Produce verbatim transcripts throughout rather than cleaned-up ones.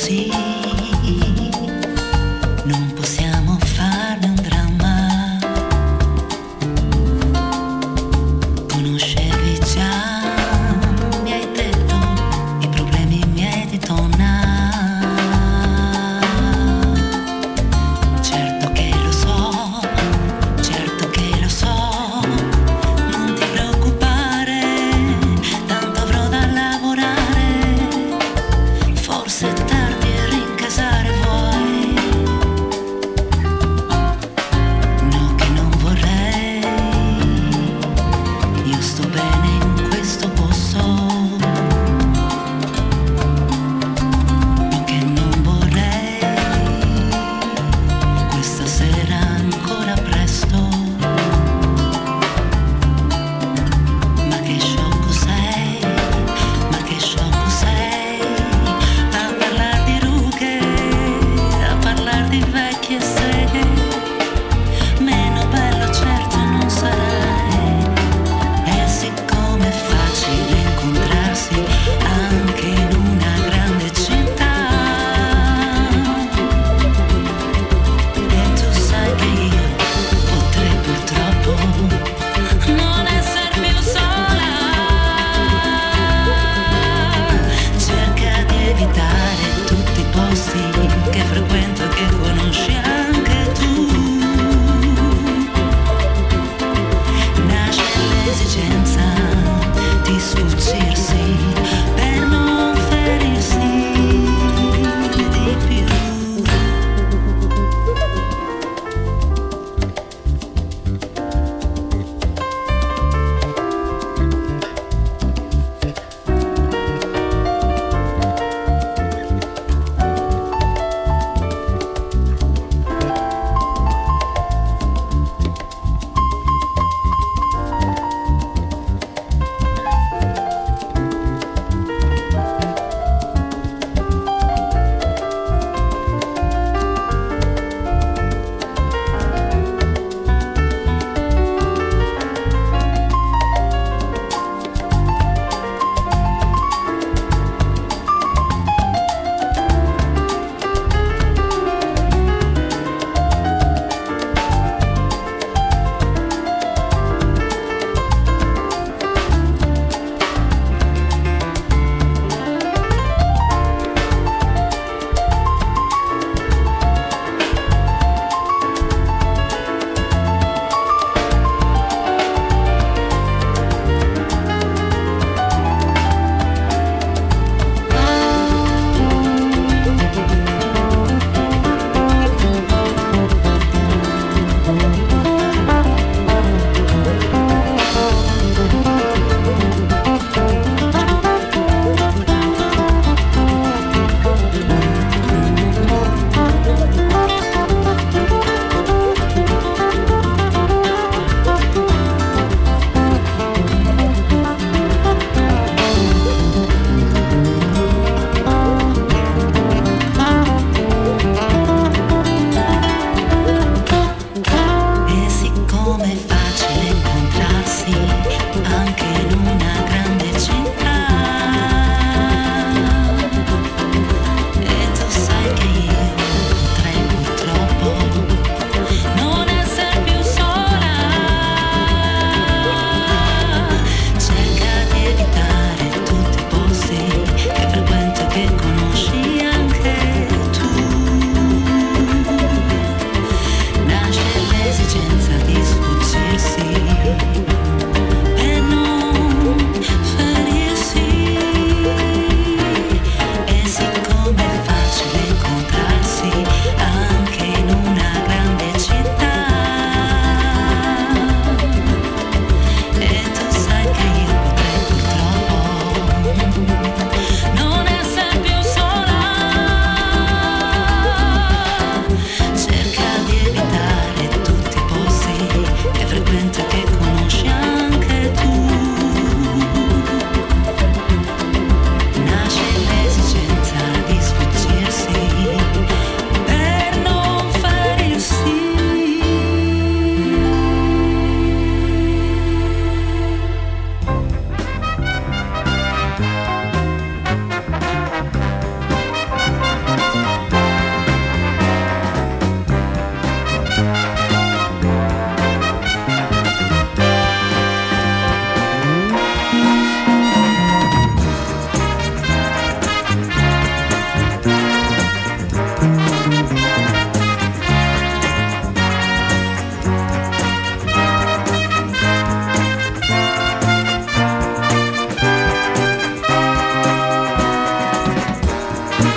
così. Non possiamo farne un dramma. Conoscevi già, mi hai detto, i problemi miei di donna. Certo che lo so, certo che lo so, non ti preoccupare, tanto avrò da lavorare. Forse è tardi e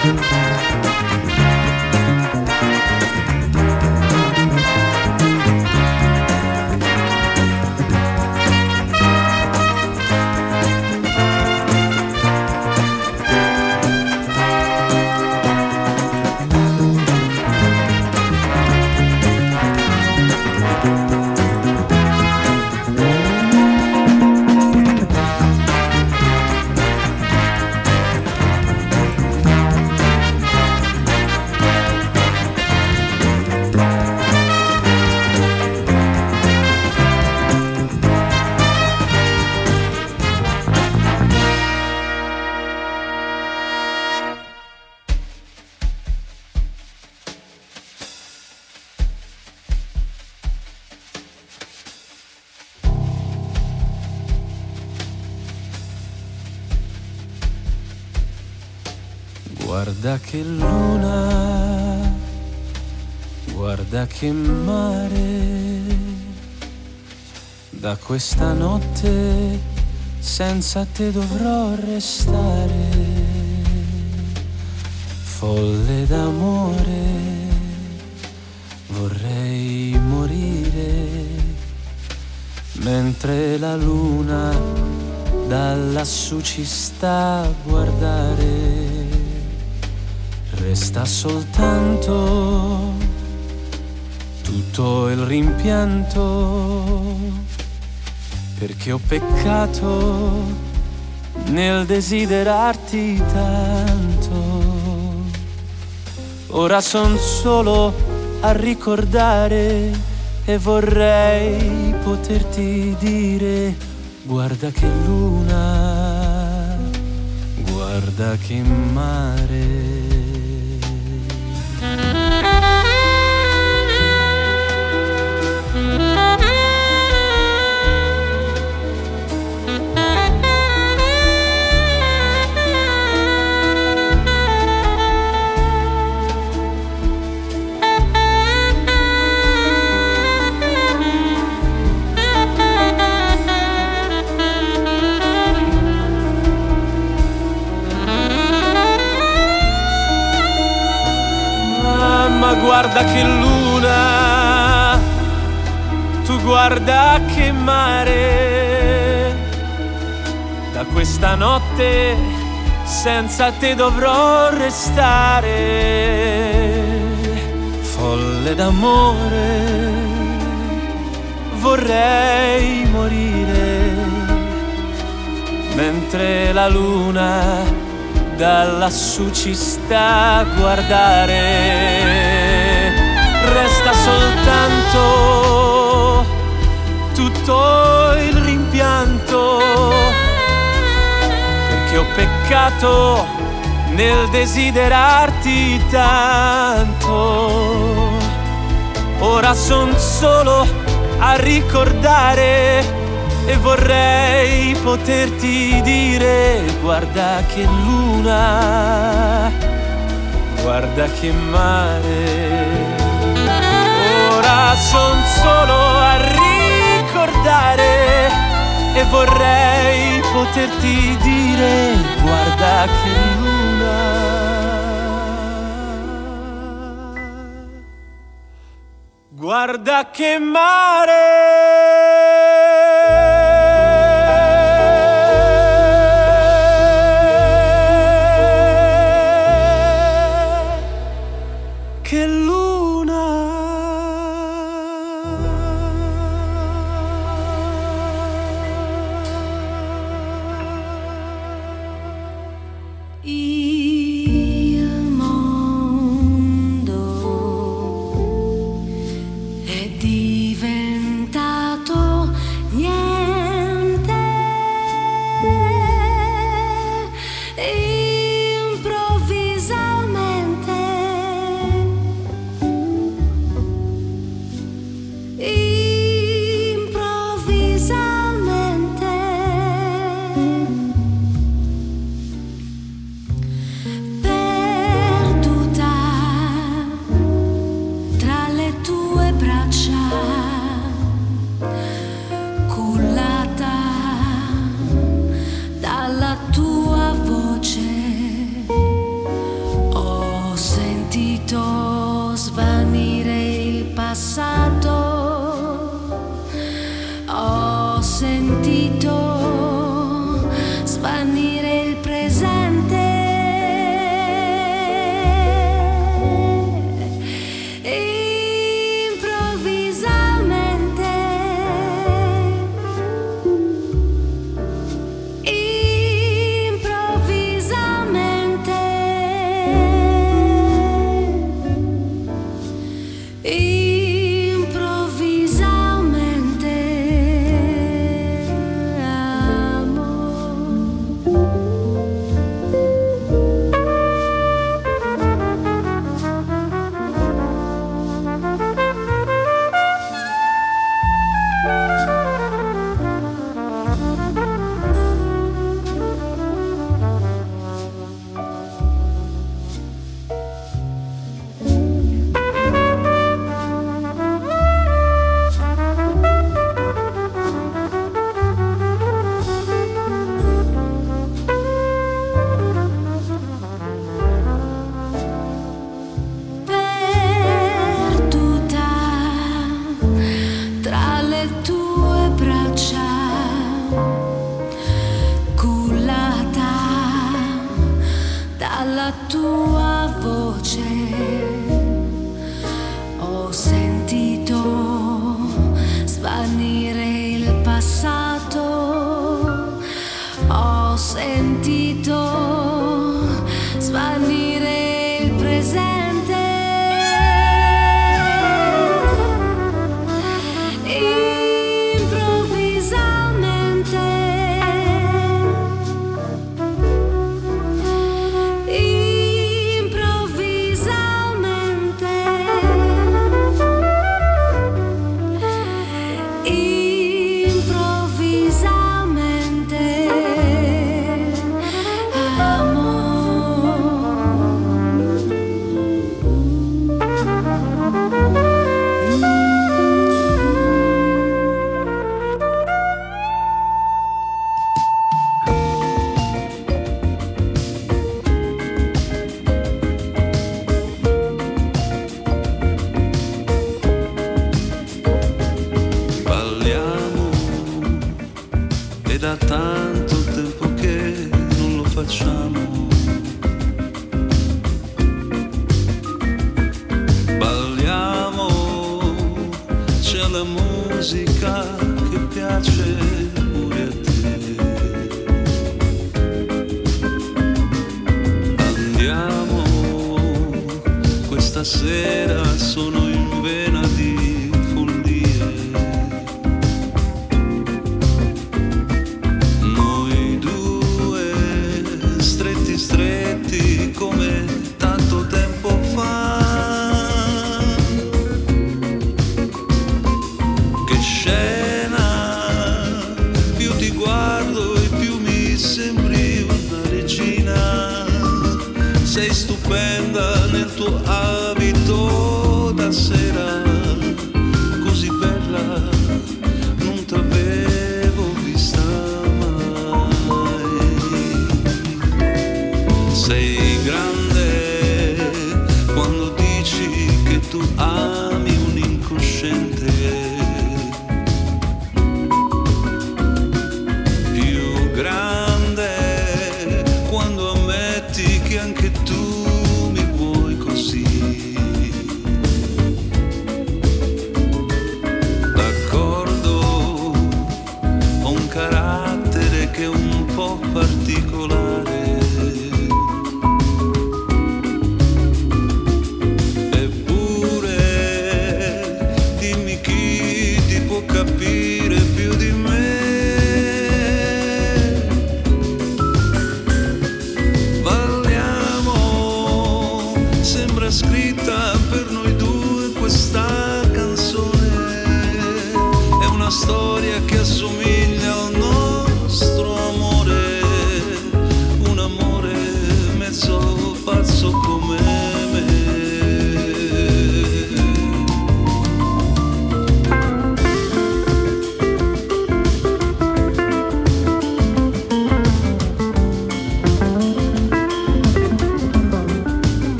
Guarda che luna, guarda che mare, da questa notte senza te dovrò restare, folle d'amore, vorrei morire, mentre la luna da lassù ci sta a guardare. Resta soltanto tutto il rimpianto, perché ho peccato nel desiderarti tanto. Ora son solo a ricordare e vorrei poterti dire: guarda che luna, guarda che mare. Guarda che luna, tu guarda che mare, da questa notte senza te dovrò restare, folle d'amore, vorrei morire, mentre la luna da lassù ci sta a guardare. Resta soltanto tutto il rimpianto, perché ho peccato nel desiderarti tanto. Ora son solo a ricordare e vorrei poterti dire: guarda che luna, guarda che mare. Ora son solo a ricordare e vorrei poterti dire: guarda che luna, guarda che mare. Diventato passato, ho sentito svanire il presente.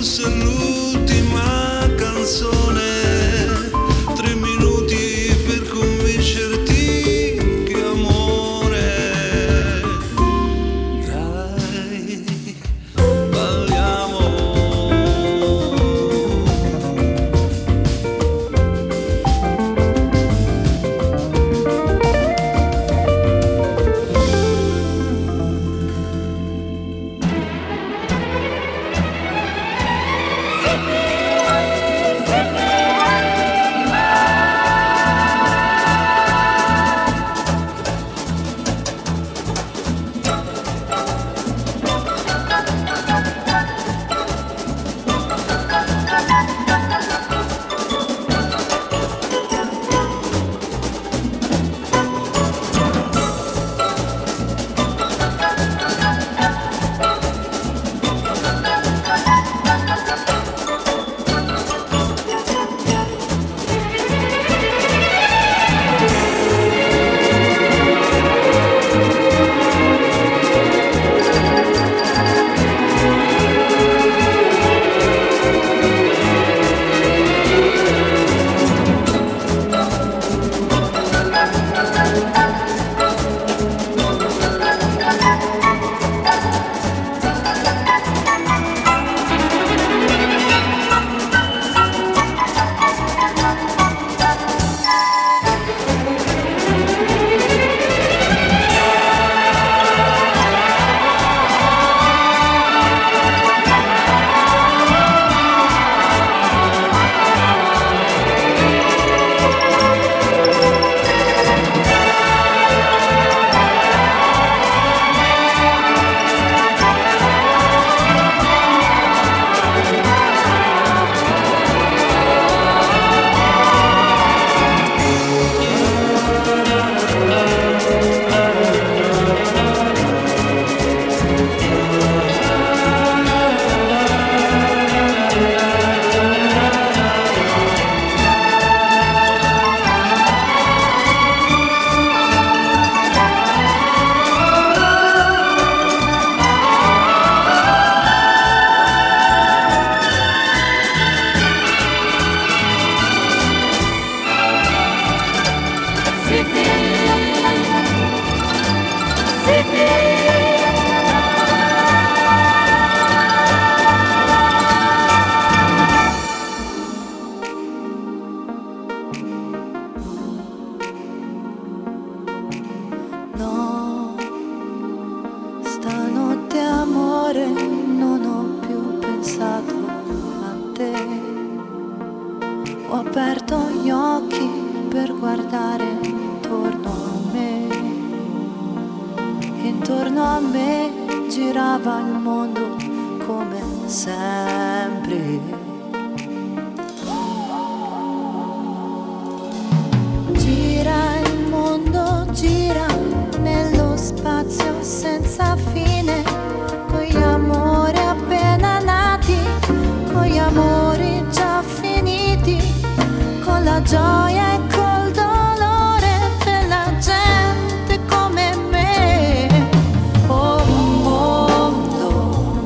fosse l'ultima canzone, tre minuti per convincerti che amore, dai, balliamo. No, stanotte amore non ho più pensato a te. Ho aperto gli occhi per guardare intorno a me. Intorno a me girava il mondo come sempre. Gira il mondo, gira nello spazio senza fine, con gli amori appena nati, con gli amori già finiti, con la gioia e col dolore della gente come me. Oh mondo,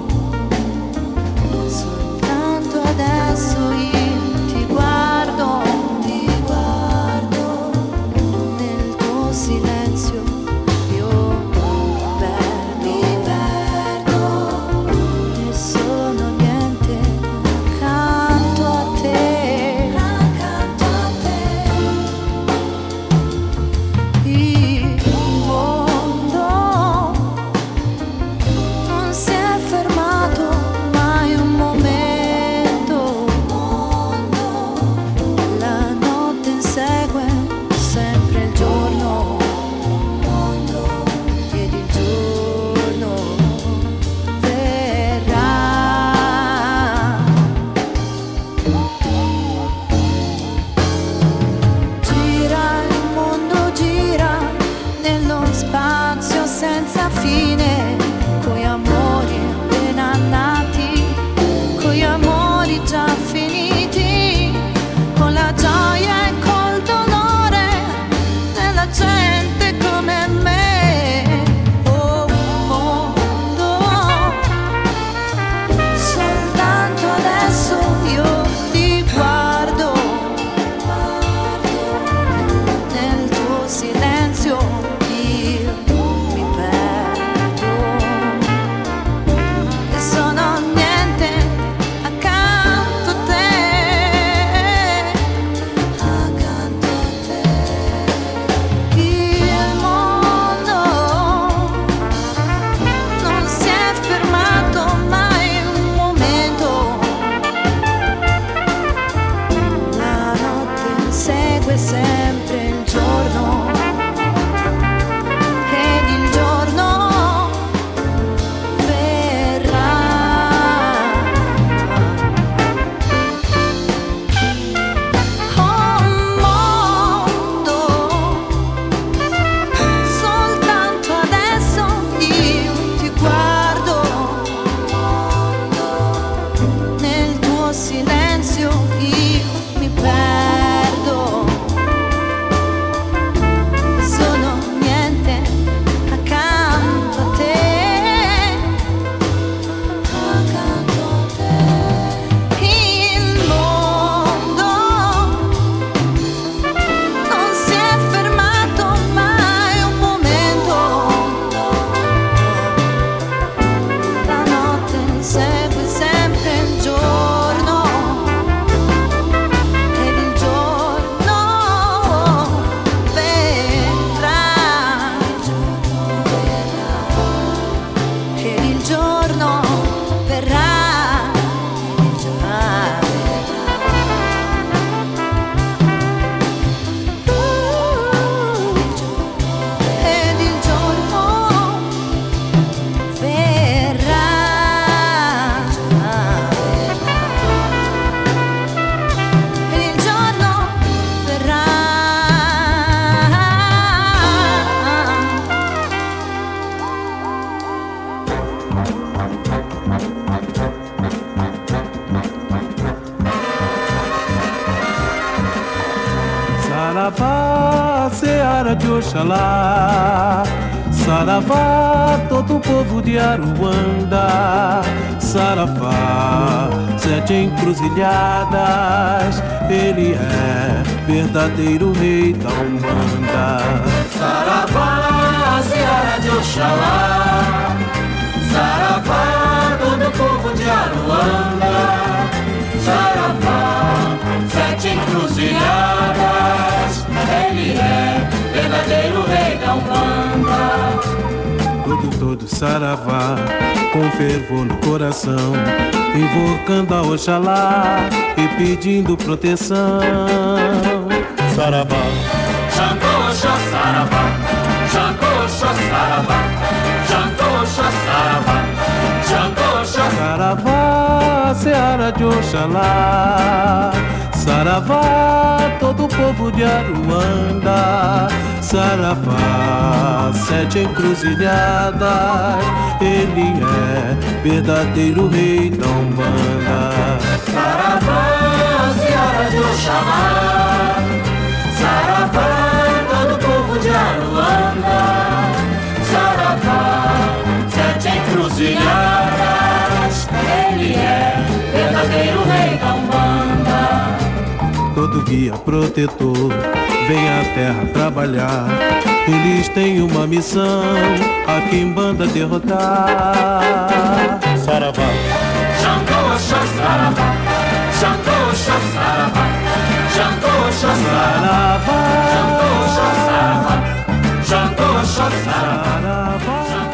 Oxalá. Saravá, todo o povo de Aruanda. Saravá, sete encruzilhadas. Ele é verdadeiro rei da Umbanda. Saravá, Seara de Oxalá. Saravá, todo o povo de Aruanda. Saravá, sete encruzilhadas. Ele é verdadeiro rei da Umbanda. Todo, todo saravá, com fervor no coração, invocando a Oxalá e pedindo proteção. Saravá, Xangô, Oxó, Saravá. Xangô, Oxó, Saravá. Xangô, Oxó, Saravá. Xangô, Oxó, Saravá, Seara de Oxalá. Saravá, todo o povo de Aruanda. Saravá, sete encruzilhadas. Ele é verdadeiro rei da Umbanda. Saravá, Seara de Oxalá. Saravá, todo o povo de Aruanda. Saravá, sete encruzilhadas. Ele é verdadeiro rei da Umbanda. Todo guia protetor vem à terra trabalhar. Eles têm uma missão, a Quimbanda derrotar. Saravá, Xangô, Oxó, Saravá. Xangô, Oxó, Saravá. Xangô, Oxó, Saravá. Xangô, Oxó, Saravá. Xangô, Oxó, Saravá.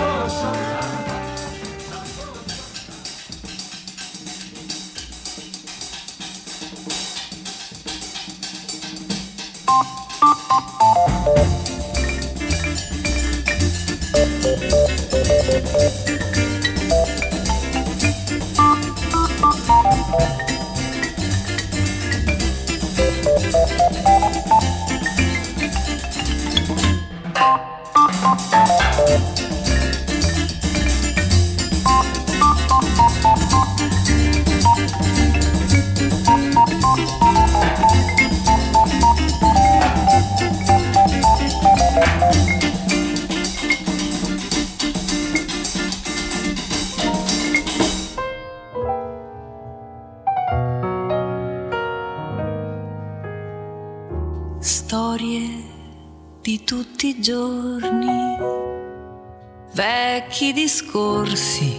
Storie di tutti i giorni, vecchi discorsi,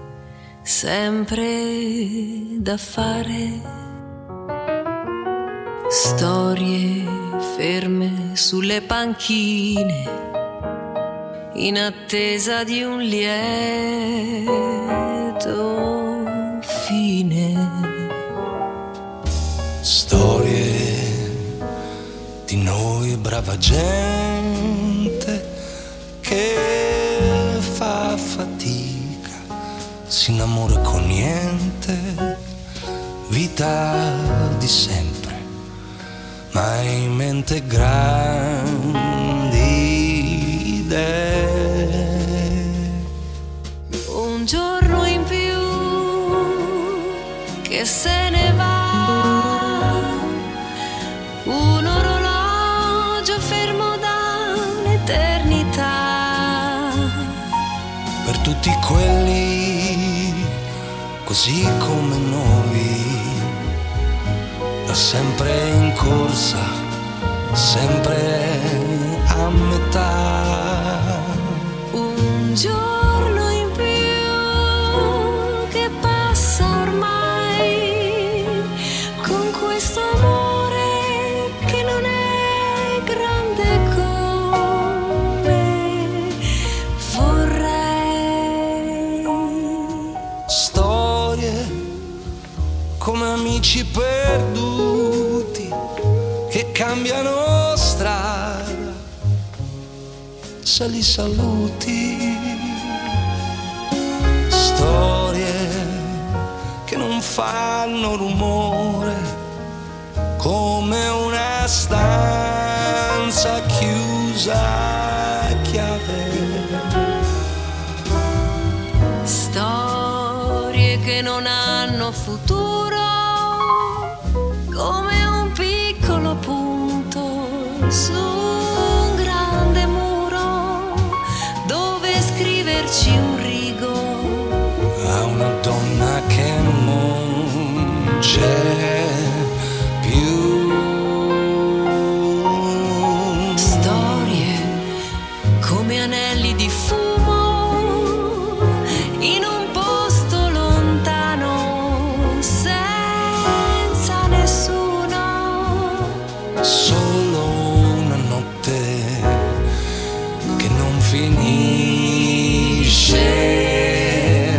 sempre da fare. Storie ferme sulle panchine, in attesa di un lieto fine. Storie di noi brava gente che fa fatica, si innamora con niente, vita di sempre, ma in mente grandi idee. Un giorno in più che se ne va, un orologio fermo da un'eternità. Per tutti quelli così come noi, da sempre in corsa, sempre a metà. Un giorno in più che passa ormai, con questo amore che non è grande come vorrei. Storie come amici perduti che cambiano strada, se li saluti. Storie che non fanno rumore, come una stanza chiusa a chiave. Storie che non hanno futuro, come un piccolo punto su un grande metterci un rigo a una donna che non c'è più. Storie come anelli di fumo in un posto lontano senza nessuno. Solo una notte che non finisce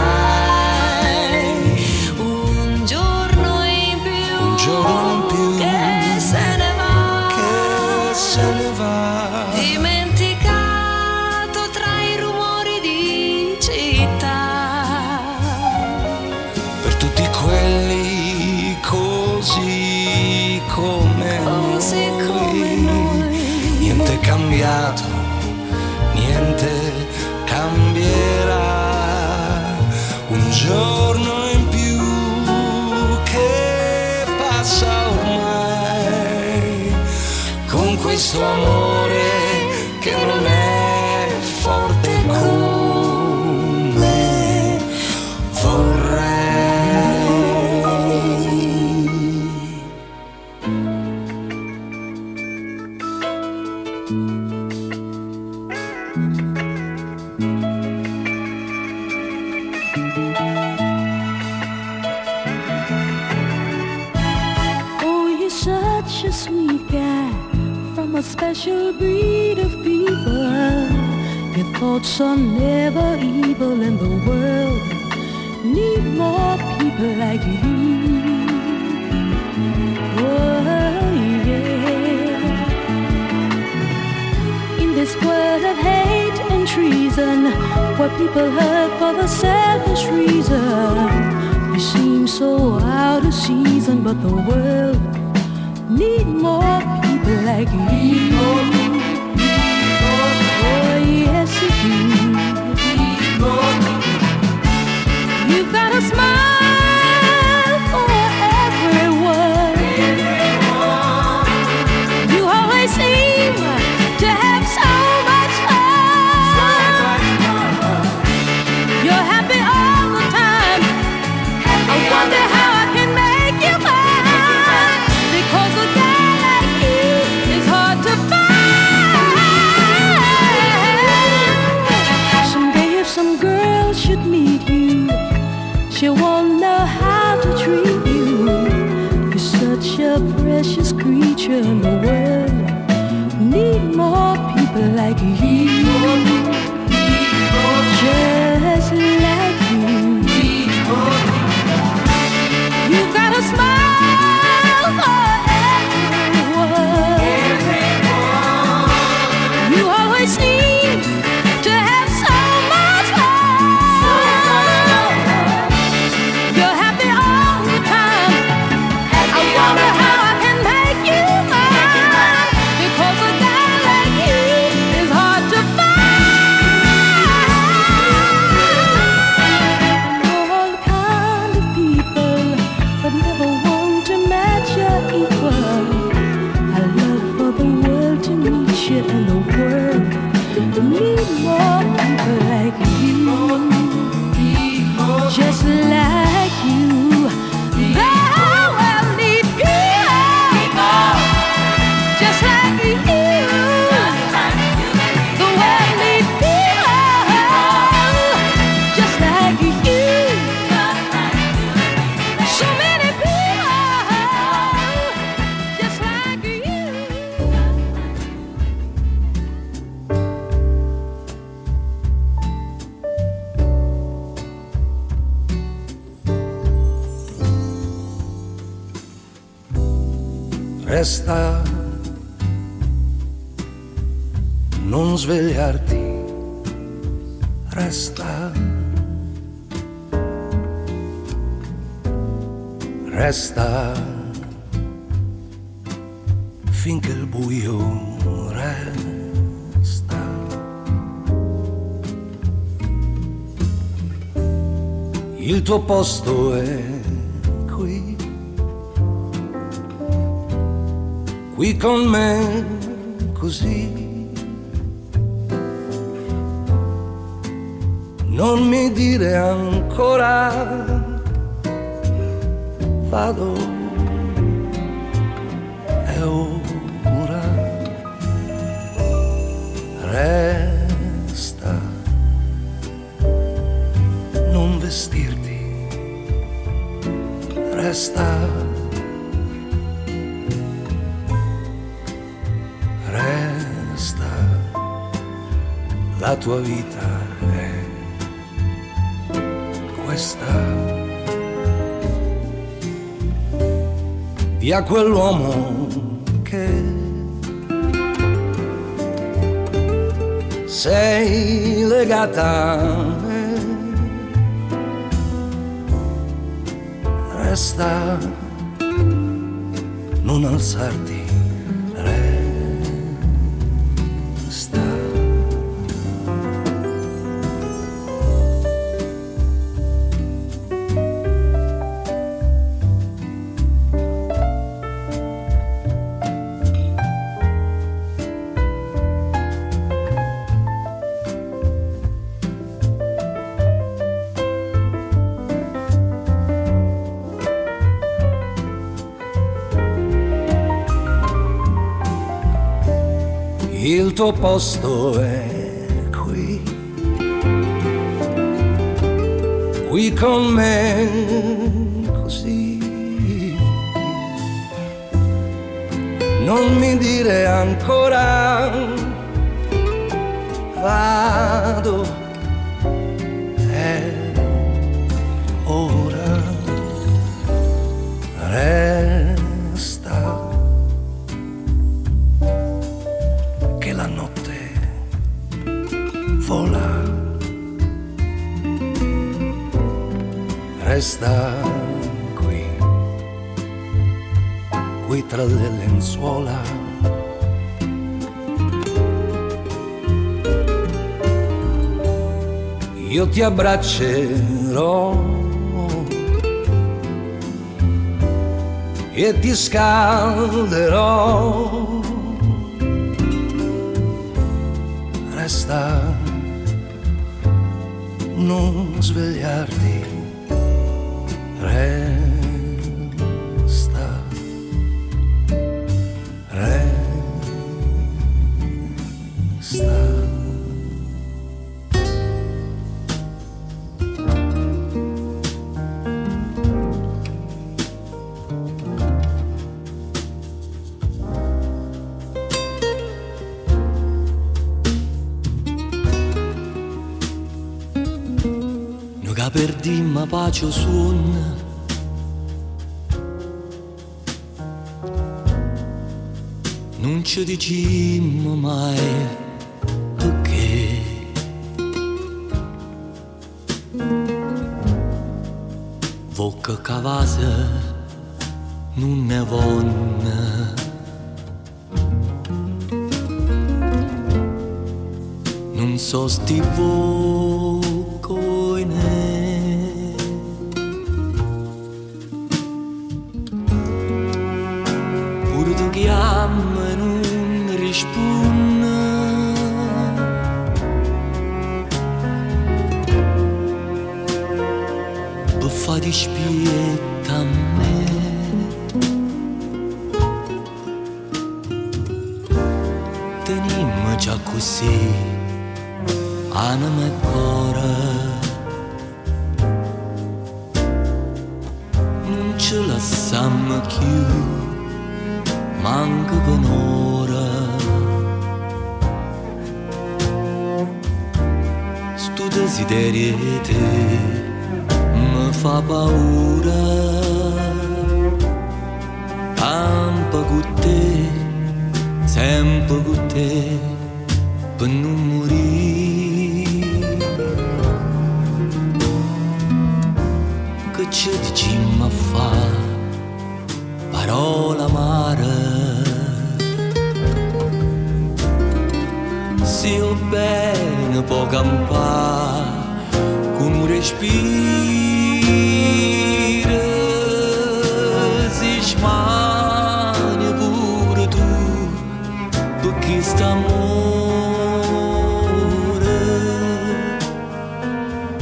mai. Un giorno in più, Un giorno in più che se ne va, che se ne va. dimenticato tra i rumori di città. Per tutti quelli così come Così noi, come noi. niente è cambiato, niente cambierà. Un giorno in più che passa ormai, con questo amore che non è forte come vorrei. Oh, you're such a sweet guy from a special breed of people. Your thoughts are never evil, and the world need more people like you. Oh, yeah. In this world of hate and treason, where people hurt for the selfish reason, you seem so out of season, but the world need more people like you. Oh, yes, you do. You've got a smile for everyone. You always seem to have so much fun. You're happy all the time. I wonder how I can make you mine, because a guy like you is hard to find. Someday if some girl should meet you, she won't know how to treat you. You're such a precious creature, and the world need more people like you. Just like you. You've got a smile for everyone. You always seem to have so much fun. You're happy all the time. I wonder how I can make you mine, because a guy like you is hard to find. All kind of people, but never one to match your equal. I love for the world to meet you, and the world need more people like you, just like you. The world need people, just like you. The world need people, just like you. So many people, just like you. Resta, non svegliarti, resta, resta finché il buio resta. Il tuo posto è qui, qui con me così. non mi dire ancora vado, è ora, resta, non vestirti, resta, resta, la tua vita è questa. Via quell'uomo che sei legata a me, resta, non alzarti, resta. Il tuo posto è qui, qui con me così. Non mi dire ancora vado, è ora, resta, che la notte vola, resta qui, qui tra le lenzuola. Io ti abbraccerò e ti scalderò. Resta, non svegliarti, resta, resta. Perdimmo pace suon, non ci dicimmo mai perché. Vocca cavasa non ne vonna, non so sti voccoine. Chiama e non risponde, per fare dispietta a me. Tenimmo già così anima e cuore, non ce lasciamo più manca per un'ora. Sto desiderio di te mi fa paura, campa con te, sempre con te, per non morire. Che ci diciamo a fa parola amara, se io bene può campare con un respiro, si smania pure tu perché sta amore.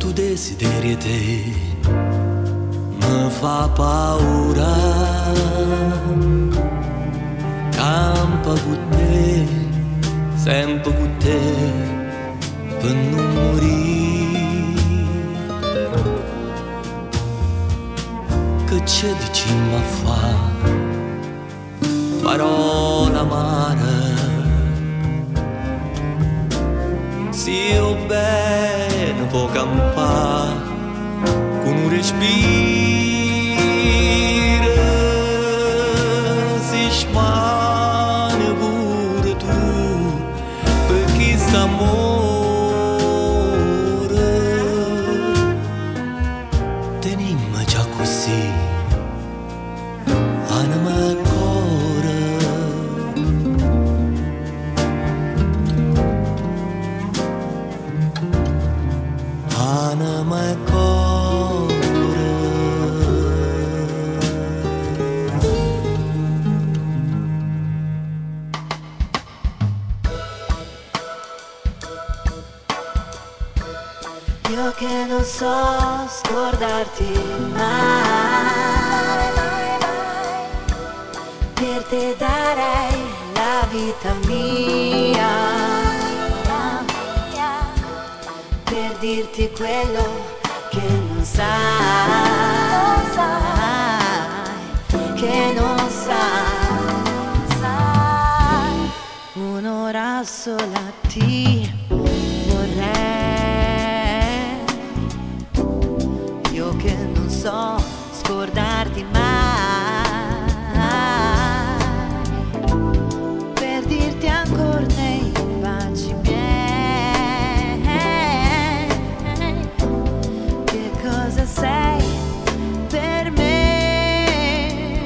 tu desideri te mi fa paura. Campa con te, sempre con te, per non morire. Che c'è dici ma fa parola amara? Se io bene può campare con un respiro. Smane pure tu per chi sta amore. Tenimmo già così anima e cuore. Anima e cuore. Io che non so scordarti mai, per te darei la vita mia, per dirti quello che non sai, che non sai. Un'ora sola ti vorrei. Che non so scordarti mai, per dirti ancora nei baci miei che cosa sei per me.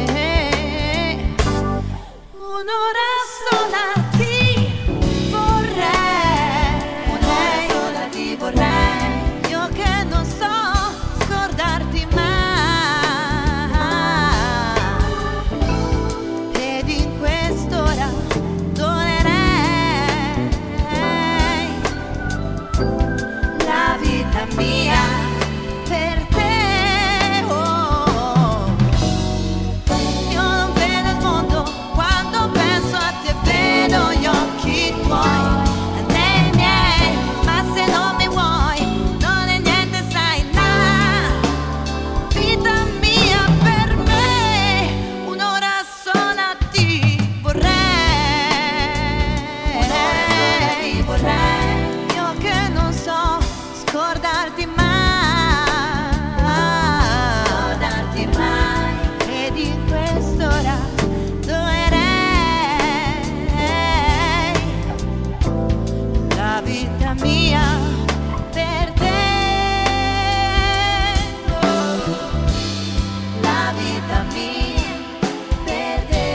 Un'ora sola ti vorrei, un'ora sola ti vorrei. Io che non so scordarti mai, ed in quest'ora dolerei la vita mia per te. Oh, io non vedo il mondo quando penso a te, vedo gli occhi tuoi nei miei, ma se non mi vuoi non è niente, sai, la vita mia per me. Un'ora sola ti vorrei, un'ora ti vorrei. Io che non so scordarti mai, scordarti mai, ed in quest'ora dolerei la vita mia per te. La vita mia per te.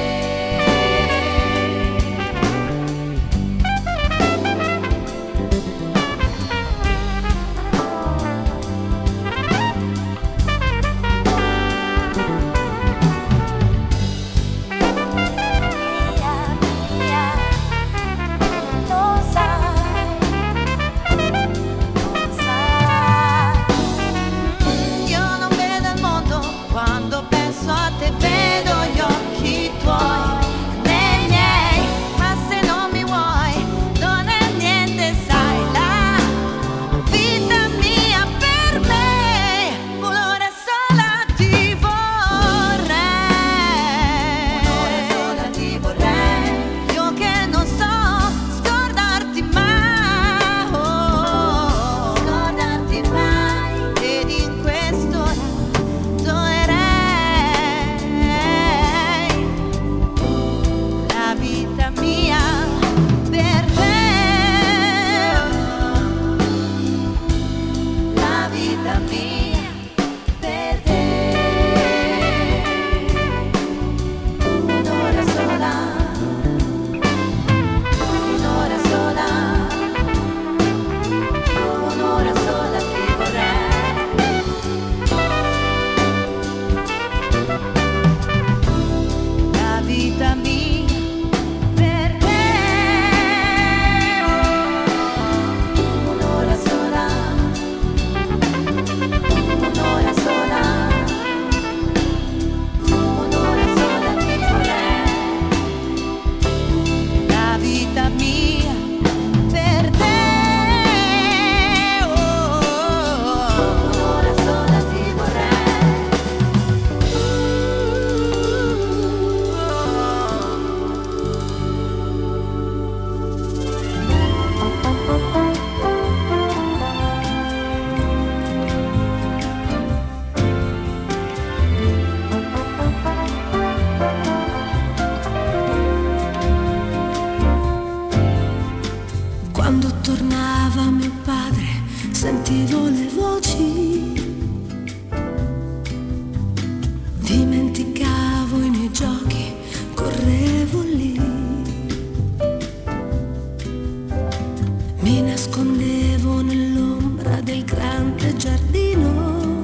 Mia, mia, lo sai, lo sai. Io non vedo il mondo quando penso a te, vedo gli occhi tuoi nei miei, ma se non mi vuoi non è niente, sai, la vita mia per me. Un'ora sola ti vorrei, un'ora sola ti vorrei. Io che non so scordarti mai, oh, scordarti mai, ed in quest'ora dolerei la vita mia per te. La vita mia per te. Un'ora sola, un'ora sola, un'ora sola ti vorrei. La vita mia per te. Un'ora sola, sentivo le voci, dimenticavo i miei giochi, correvo lì, mi nascondevo nell'ombra del grande giardino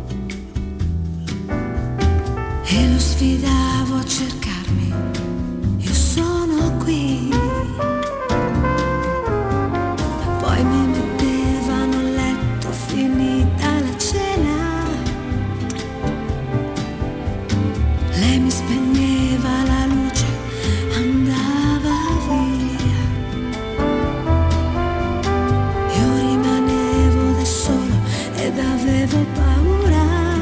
e lo sfidavo a cercarmi, io sono qui. Poi mi mettevano a letto finita la cena, lei mi spegneva la luce, andava via, io rimanevo da solo ed avevo paura,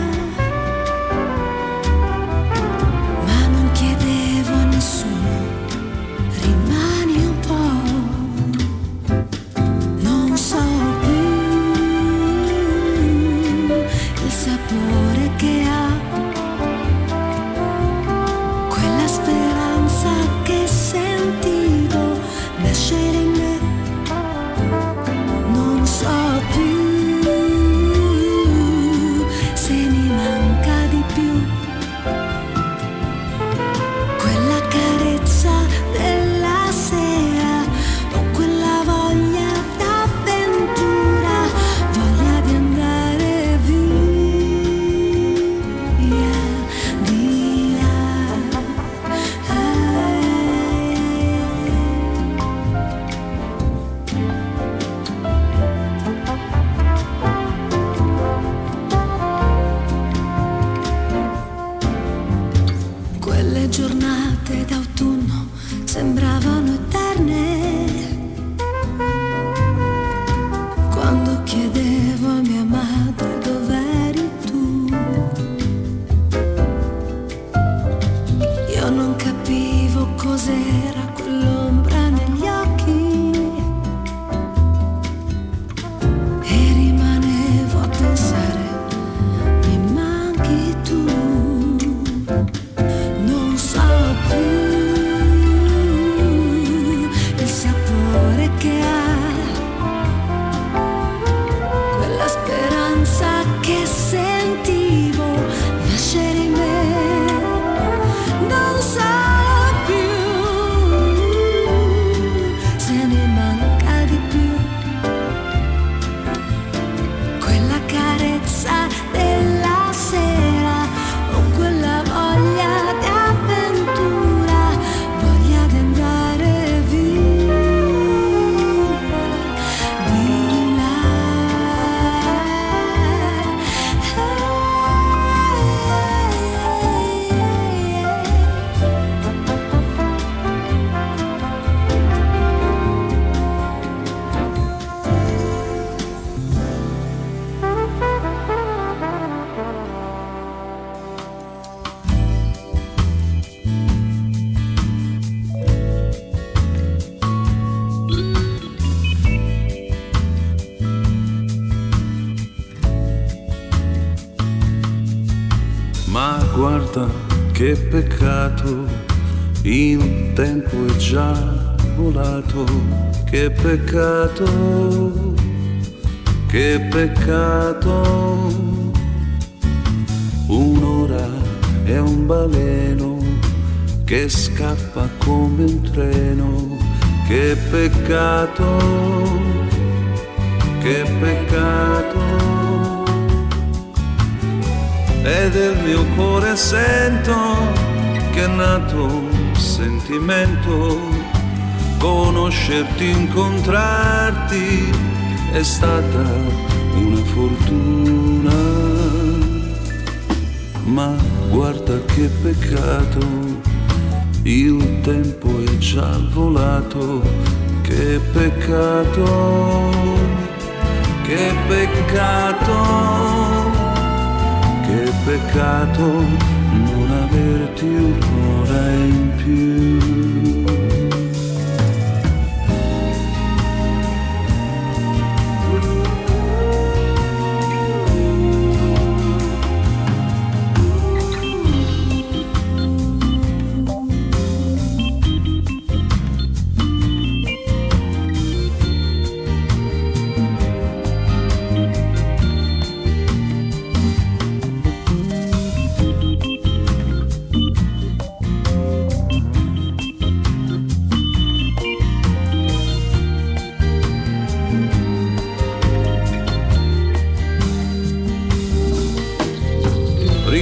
ma non chiedevo a nessuno, rimani un po', non so più il sapore che ha quella speranza che sentivo nascere in me, non so più se mi manca di più quella carezza della sera o quella voglia d'avventura, voglia di andare via di là. Quelle giornate d'autunno sembravano eterne, quando chiedevo a mia madre dov'eri tu, io non capivo cos'era quell'ombra negli occhi e rimanevo a pensare, mi manchi tu, non so più il sapore che ha quella speranza che sentivo nascere in me, non so più se mi manca di più quella carezza della sera o quella voglia di avventura, voglia di andare via di là. Ma guarda che peccato, il tempo è già volato, che peccato, che peccato, un'ora è un baleno che scappa come un treno, che peccato, che peccato. E del mio cuore sento che è nato un sentimento, conoscerti, incontrarti è stata una fortuna. Ma guarda che peccato, il tempo è già volato, che peccato, che peccato. Che peccato non averti un'ora in più.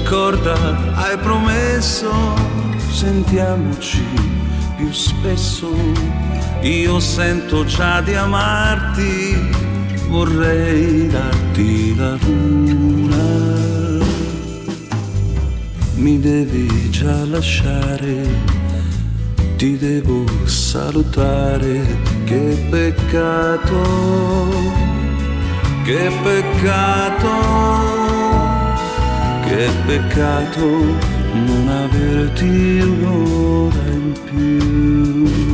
ricorda, hai promesso, sentiamoci più spesso. Io sento già di amarti, vorrei darti la luna. Mi devi già lasciare, ti devo salutare. Che peccato, che peccato, che peccato non averti un'ora in più.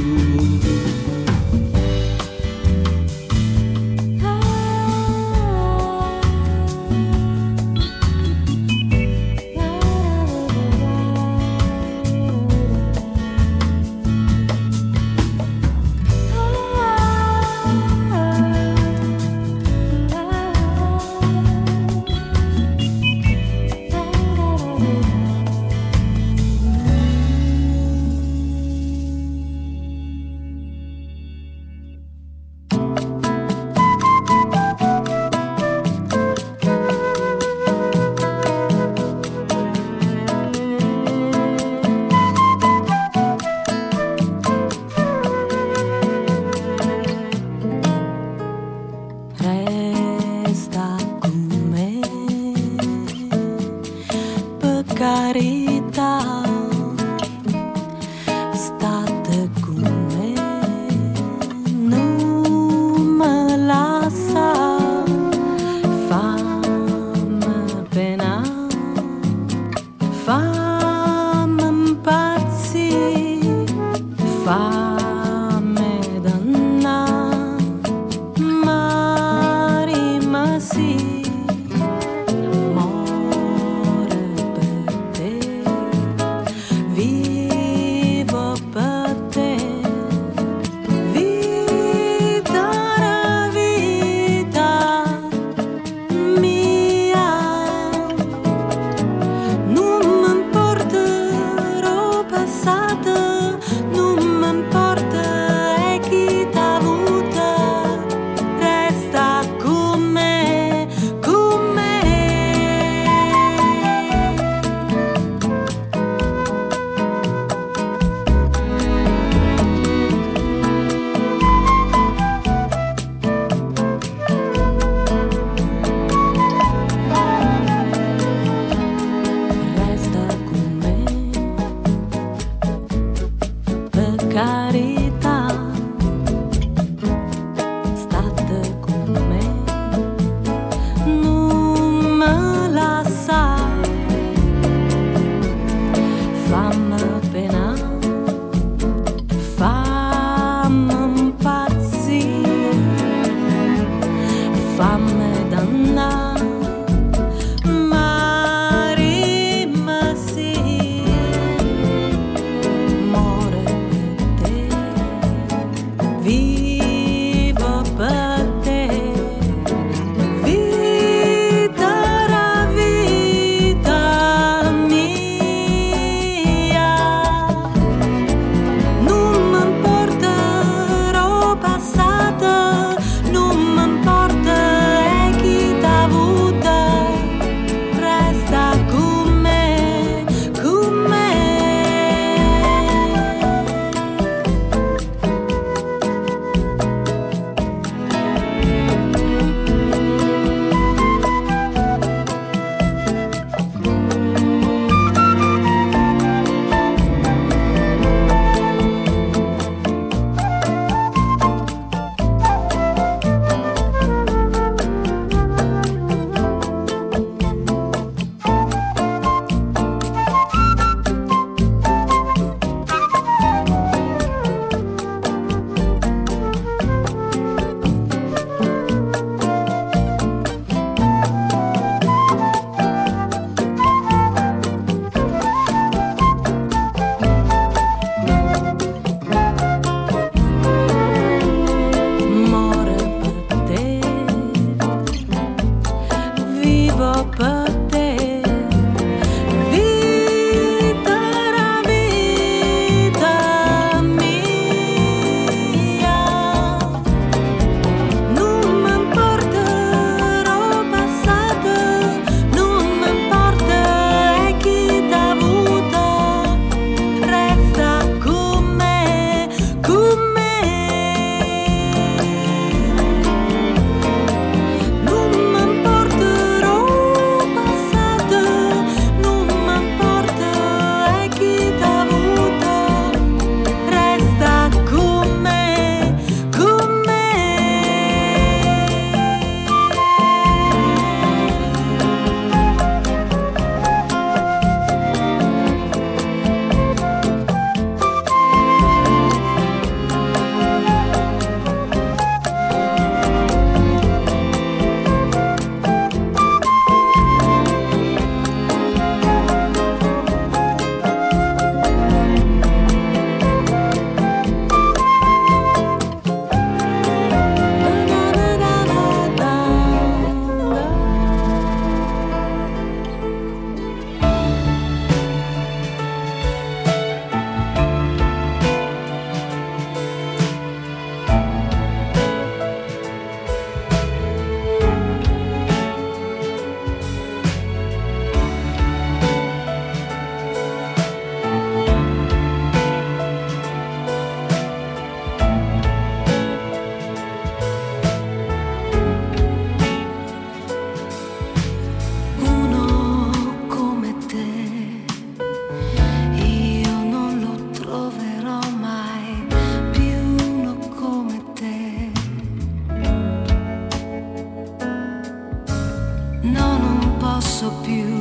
so più